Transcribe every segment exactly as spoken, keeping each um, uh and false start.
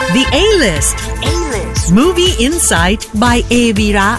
The A-List Movie Insight by เอ วีระ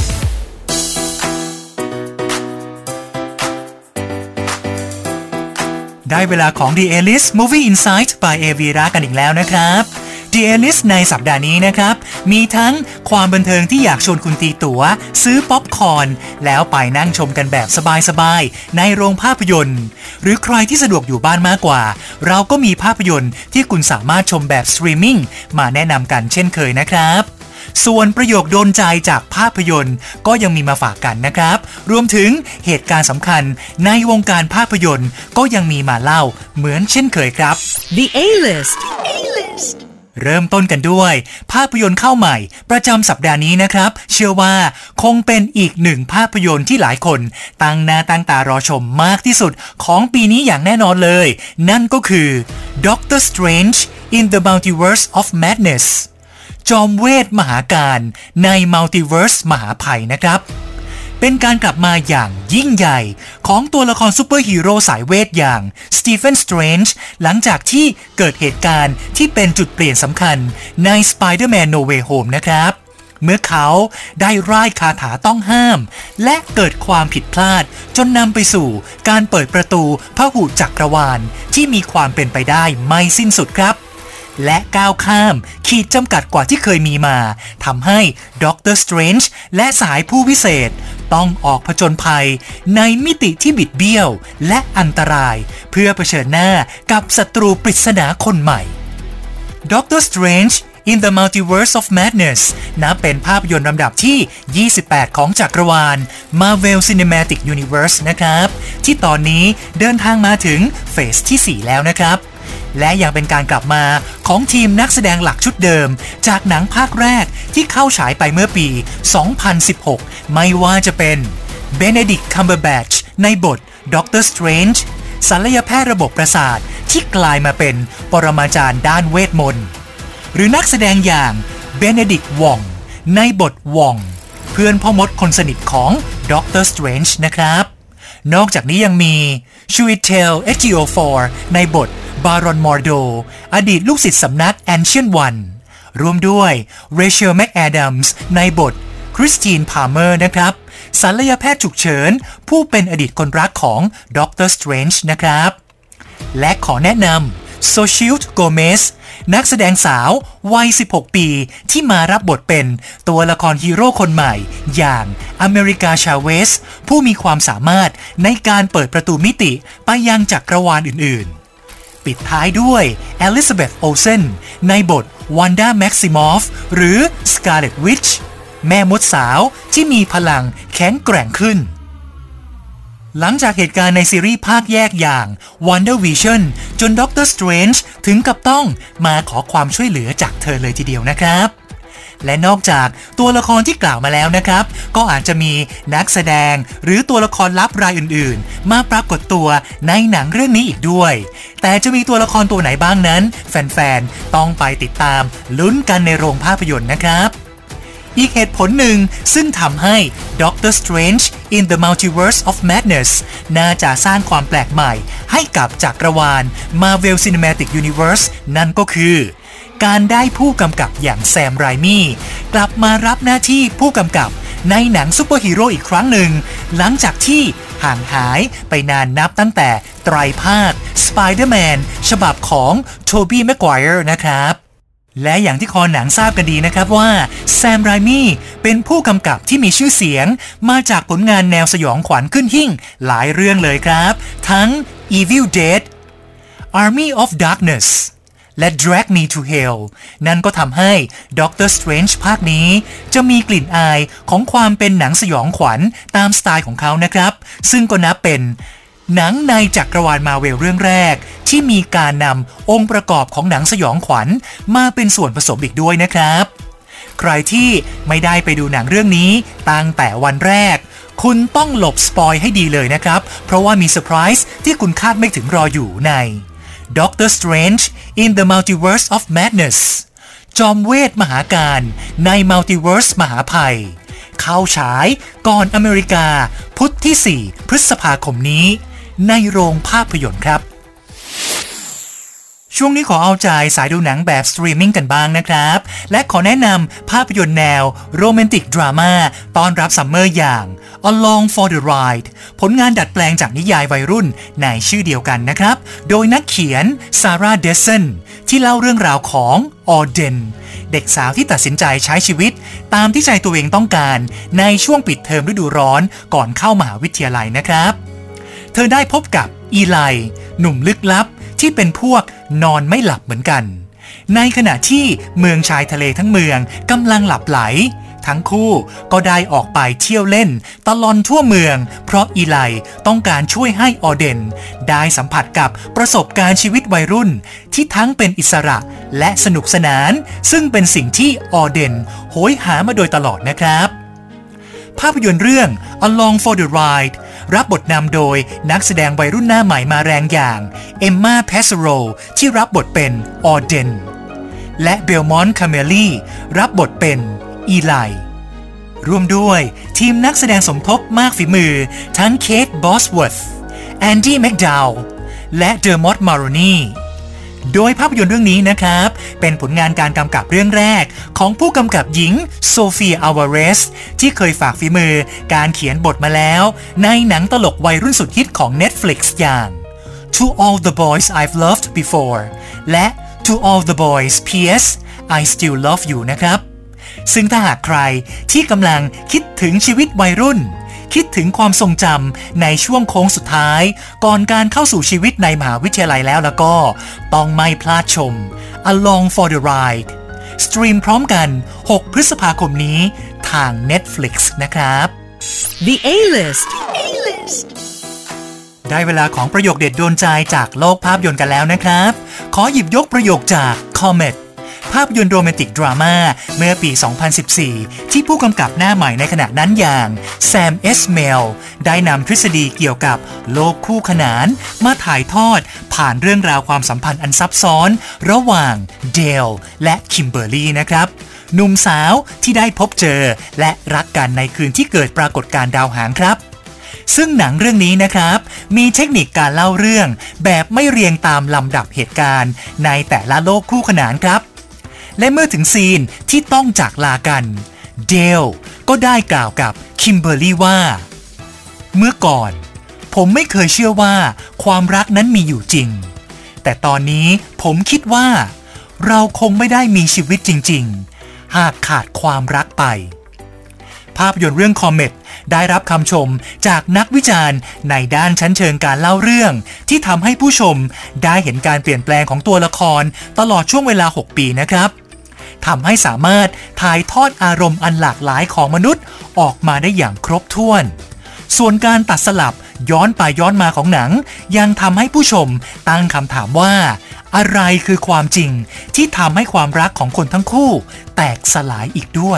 ได้เวลาของ The A-List Movie Insight by เอ วี ระ กันอีกแล้วนะครับ The A-List ในสัปดาห์นี้นะครับมีทั้งความบันเทิงที่อยากชวนคุณตีตั๋วซื้อป๊อปคอร์นแล้วไปนั่งชมกันแบบสบายๆในโรงภาพยนตร์หรือใครที่สะดวกอยู่บ้านมากกว่าเราก็มีภาพยนตร์ที่คุณสามารถชมแบบสตรีมมิ่งมาแนะนำกันเช่นเคยนะครับส่วนประโยคโดนใจจากภาพยนตร์ก็ยังมีมาฝากกันนะครับรวมถึงเหตุการณ์สำคัญในวงการภาพยนตร์ก็ยังมีมาเล่าเหมือนเช่นเคยครับ The A-List เริ่มต้นกันด้วยภาพยนตร์เข้าใหม่ประจำสัปดาห์นี้นะครับเชื่อว่าคงเป็นอีกหนึ่งภาพยนตร์ที่หลายคนตั้งหน้าตั้งตารอชมมากที่สุดของปีนี้อย่างแน่นอนเลยนั่นก็คือ Doctor Strange in the Multiverse of Madnessจอมเวทมหาการใน Multiverse มหาภัยนะครับเป็นการกลับมาอย่างยิ่งใหญ่ของตัวละครซูเปอร์ฮีโร่สายเวทอย่าง Stephen Strange หลังจากที่เกิดเหตุการณ์ที่เป็นจุดเปลี่ยนสำคัญใน Spider-Man No Way Home นะครับเมื่อเขาได้ร่ายคาถาต้องห้ามและเกิดความผิดพลาดจนนำไปสู่การเปิดประตูพหุจักรวาลที่มีความเป็นไปได้ไม่สิ้นสุดครับและก้าวข้ามขีดจำกัดกว่าที่เคยมีมาทำให้ด็อกเตอร์สเตรนจ์และสายผู้วิเศษต้องออกผจญภัยในมิติที่บิดเบี้ยวและอันตรายเพื่อเผชิญหน้ากับศัตรูปริศนาคนใหม่ด็อกเตอร์สเตรนจ์ in the Multiverse of Madness นับเป็นภาพยนตร์ลำดับที่ยี่สิบแปดของจักรวาล Marvel Cinematic Universe นะครับที่ตอนนี้เดินทางมาถึงเฟสที่สี่แล้วนะครับและยังเป็นการกลับมาของทีมนักแสดงหลักชุดเดิมจากหนังภาคแรกที่เข้าฉายไปเมื่อปี สองพันสิบหก ไม่ว่าจะเป็น Benedict Cumberbatch ในบท Doctor Strange ศัลยแพทย์ระบบประสาทที่กลายมาเป็นปรมาจารย์ด้านเวทมนต์หรือนักแสดงอย่าง Benedict Wong ในบท Wong เพื่อนพ่อมดคนสนิทของ Doctor Strange นะครับนอกจากนี้ยังมี Chiwetel Ejiofor ในบทบารอนมอร์โดอดีตลูกศิษย์สำนัก Ancient One รวมด้วย Rachel McAdams ในบท Christine Palmer นะครับศัลยแพทย์ฉุกเฉินผู้เป็นอดีตคนรักของ Doctor Strange นะครับและขอแนะนำ Xochitl Gomez นักแสดงสาววัยสิบหกปีที่มารับบทเป็นตัวละครฮีโร่คนใหม่อย่างอเมริกาชาเวสผู้มีความสามารถในการเปิดประตูมิติไปยังจักรวาลอื่นๆปิดท้ายด้วย Elizabeth Olsen ในบท Wanda Maximoff หรือ Scarlet Witch แม่มดสาวที่มีพลังแข็งแกร่งขึ้นหลังจากเหตุการณ์ในซีรีส์ภาคแยกอย่าง WandaVision จน Doctor Strange ถึงกับต้องมาขอความช่วยเหลือจากเธอเลยทีเดียวนะครับและนอกจากตัวละครที่กล่าวมาแล้วนะครับก็อาจจะมีนักแสดงหรือตัวละครลับรายอื่นๆมาปรากฏตัวในหนังเรื่องนี้อีกด้วยแต่จะมีตัวละครตัวไหนบ้างนั้นแฟนๆต้องไปติดตามลุ้นกันในโรงภาพยนตร์นะครับอีกเหตุผลหนึ่งซึ่งทำให้ Doctor Strange in the Multiverse of Madness น่าจะสร้างความแปลกใหม่ให้กับจักรวาล Marvel Cinematic Universe นั่นก็คือการได้ผู้กำกับอย่างแซมไรมี่กลับมารับหน้าที่ผู้กำกับในหนังซูเปอร์ฮีโร่อีกครั้งหนึ่งหลังจากที่ห่างหายไปนานนับตั้งแต่ไตรภาค Spider-Man ฉบับของโทบี้ แม็กไกวร์นะครับและอย่างที่คอหนังทราบกันดีนะครับว่าแซมไรมี่เป็นผู้กำกับที่มีชื่อเสียงมาจากผลงานแนวสยองขวัญขึ้นหิ้งหลายเรื่องเลยครับทั้ง Evil Dead Army of Darkness และ Drag Me to Hell นั่นก็ทำให้ Doctor Strange ภาคนี้จะมีกลิ่นอายของความเป็นหนังสยองขวัญตามสไตล์ของเขานะครับซึ่งก็นับเป็นหนังในจักรวาลมาเวลเรื่องแรกที่มีการนำองค์ประกอบของหนังสยองขวัญมาเป็นส่วนผสมอีกด้วยนะครับใครที่ไม่ได้ไปดูหนังเรื่องนี้ตั้งแต่วันแรกคุณต้องหลบสปอยให้ดีเลยนะครับเพราะว่ามีเซอร์ไพรส์ที่คุณคาดไม่ถึงรออยู่ใน Doctor Strange in the Multiverse of Madness จอมเวทมหาการใน Multiverse มหาภัยเข้าฉายก่อนอเมริกาพุธที่สี่พฤษภาคมนี้ในโรงภาพยนตร์ครับช่วงนี้ขอเอาใจสายดูหนังแบบสตรีมมิ่งกันบ้างนะครับและขอแนะนำภาพยนตร์แนวโรแมนติกดราม่าต้อนรับซัมเมอร์อย่าง Along for the Ride ผลงานดัดแปลงจากนิยายวัยรุ่นในชื่อเดียวกันนะครับโดยนักเขียนซาร่าเดสันที่เล่าเรื่องราวของออเดนเด็กสาวที่ตัดสินใจใช้ชีวิตตามที่ใจตัวเองต้องการในช่วงปิดเทอมฤดูร้อนก่อนเข้ามหาวิทยาลัยนะครับเธอได้พบกับอีไลหนุ่มลึกลับที่เป็นพวกนอนไม่หลับเหมือนกันในขณะที่เมืองชายทะเลทั้งเมืองกำลังหลับไหลทั้งคู่ก็ได้ออกไปเที่ยวเล่นตลอดทั่วเมืองเพราะอีไลต้องการช่วยให้ออเดนได้สัมผัสกับประสบการณ์ชีวิตวัยรุ่นที่ทั้งเป็นอิสระและสนุกสนานซึ่งเป็นสิ่งที่ออเดนโหยหามาโดยตลอดนะครับภาพยนตร์เรื่อง Along for the Ride รับบทนำโดยนักแสดงวัยรุ่นหน้าใหม่มาแรงอย่างเอมม่าเพซโรที่รับบทเป็นออเดนและเบลมอนต์คาเมลี่รับบทเป็นอีไลรวมด้วยทีมนักแสดงสมทบมากฝีมือทั้งเคทบอสเวิร์ธแอนดี้แมคดาวล์และเดอร์มอตมาโรนีโดยภาพยนตร์เรื่องนี้นะครับเป็นผลงานการกำกับเรื่องแรกของผู้กำกับหญิงโซเฟียอัลวาเรสที่เคยฝากฝีมือการเขียนบทมาแล้วในหนังตลกวัยรุ่นสุดฮิตของ Netflix อย่าง To All the Boys I've Loved Before และ To All the Boys พี เอส I Still Love You นะครับซึ่งถ้าหากใครที่กำลังคิดถึงชีวิตวัยรุ่นคิดถึงความทรงจำในช่วงโค้งสุดท้ายก่อนการเข้าสู่ชีวิตในมหาวิทยาลัยแล้วแล้วก็ต้องไม่พลาดชม Along for the Ride สตรีมพร้อมกันหกพฤษภาคมนี้ทาง Netflix นะครับ The A-List ได้เวลาของประโยคเด็ดโดนใจจากโลกภาพยนตร์กันแล้วนะครับขอหยิบยกประโยคจาก Cometภาพยนตร์โรแมนติกดราม่าเมื่อปี สองพันสิบสี่ ที่ผู้กำกับหน้าใหม่ในขณะนั้นอย่างแซม เอสเมลได้นำทฤษฎีเกี่ยวกับโลกคู่ขนานมาถ่ายทอดผ่านเรื่องราวความสัมพันธ์อันซับซ้อนระหว่างเดลและคิมเบอร์รี่นะครับหนุ่มสาวที่ได้พบเจอและรักกันในคืนที่เกิดปรากฏการณ์ดาวหางครับซึ่งหนังเรื่องนี้นะครับมีเทคนิคการเล่าเรื่องแบบไม่เรียงตามลำดับเหตุการณ์ในแต่ละโลกคู่ขนานครับและเมื่อถึงซีนที่ต้องจากลากันเดลก็ได้กล่าวกับคิมเบอร์รี่ว่าเมื่อก่อนผมไม่เคยเชื่อว่าความรักนั้นมีอยู่จริงแต่ตอนนี้ผมคิดว่าเราคงไม่ได้มีชีวิตจริงๆหากขาดความรักไปภาพยนตร์เรื่อง Comet ได้รับคำชมจากนักวิจารณ์ในด้านชั้นเชิงการเล่าเรื่องที่ทำให้ผู้ชมได้เห็นการเปลี่ยนแปลงของตัวละครตลอดช่วงเวลาหกปีนะครับทำให้สามารถถ่ายทอดอารมณ์อันหลากหลายของมนุษย์ออกมาได้อย่างครบถ้วนส่วนการตัดสลับย้อนไปย้อนมาของหนังยังทำให้ผู้ชมตั้งคำถามว่าอะไรคือความจริงที่ทำให้ความรักของคนทั้งคู่แตกสลายอีกด้วย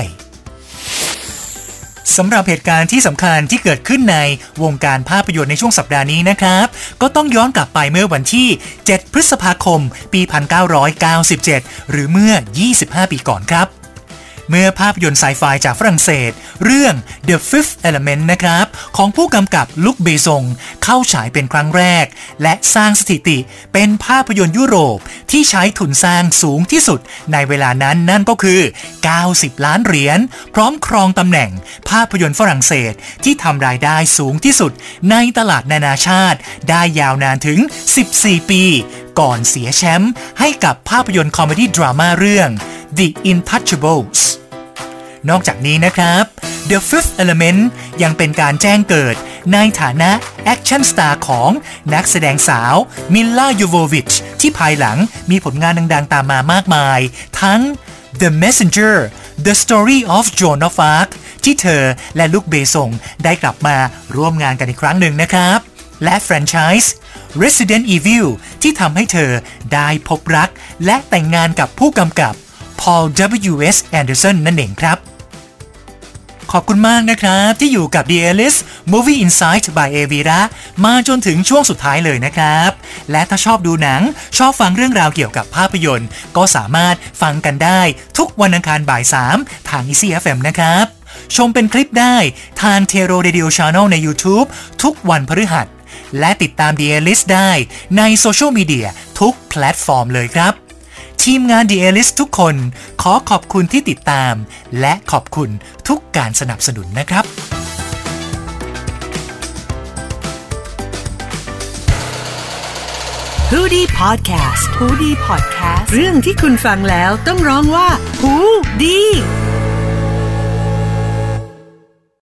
สำหรับเหตุการณ์ที่สำคัญที่เกิดขึ้นในวงการภาพยนตร์ในช่วงสัปดาห์นี้นะครับก็ต้องย้อนกลับไปเมื่อวันที่เจ็ดพฤษภาคมปี หนึ่งพันเก้าร้อยเก้าสิบเจ็ด หรือเมื่อยี่สิบห้าปีก่อนครับเมื่อภาพยนตร์ไซไฟจากฝรั่งเศสเรื่อง The Fifth Element นะครับของผู้กำกับลุคเบซงเข้าฉายเป็นครั้งแรกและสร้างสถิติเป็นภาพยนตร์ยุโรปที่ใช้ทุนสร้างสูงที่สุดในเวลานั้นนั่นก็คือเก้าสิบล้านเหรียญพร้อมครองตำแหน่งภาพยนตร์ฝรั่งเศสที่ทำรายได้สูงที่สุดในตลาดนานาชาติได้ยาวนานถึงสิบสี่ปีก่อนเสียแชมป์ให้กับภาพยนตร์คอมเมดี้ดราม่าเรื่อง The Intouchables นอกจากนี้นะครับ The Fifth Element ยังเป็นการแจ้งเกิดในฐานะแอคชั่นสตาร์ของนักแสดงสาวมิลล่า ยูโววิชที่ภายหลังมีผลงานดังๆตามมามากมายทั้ง The Messenger The Story of Joan of Arc ที่เธอและลุคเบซงได้กลับมาร่วมงานกันอีกครั้งหนึ่งนะครับและแฟรนไชส์ Resident Evil ที่ทำให้เธอได้พบรักและแต่งงานกับผู้กำกับ Paul ดับเบิลยู เอส Anderson นั่นเองครับขอบคุณมากนะครับที่อยู่กับ The A-List Movie Insight by Avira มาจนถึงช่วงสุดท้ายเลยนะครับและถ้าชอบดูหนังชอบฟังเรื่องราวเกี่ยวกับภาพยนตร์ก็สามารถฟังกันได้ทุกวันอังคารบ่ายสามทาง Easy เอฟ เอ็ม นะครับชมเป็นคลิปได้ทาง Tero Radio Channel ใน YouTube ทุกวันพฤหัสและติดตาม The A-List ได้ในโซเชียลมีเดียทุกแพลลตฟอร์มเลยครับทีมงาน The A-List ทุกคนขอขอบคุณที่ติดตามและขอบคุณทุกการสนับสนุนนะครับฮูดี้พอดแคสต์ฮูดี้พอดแคสต์เรื่องที่คุณฟังแล้วต้องร้องว่าฮูดี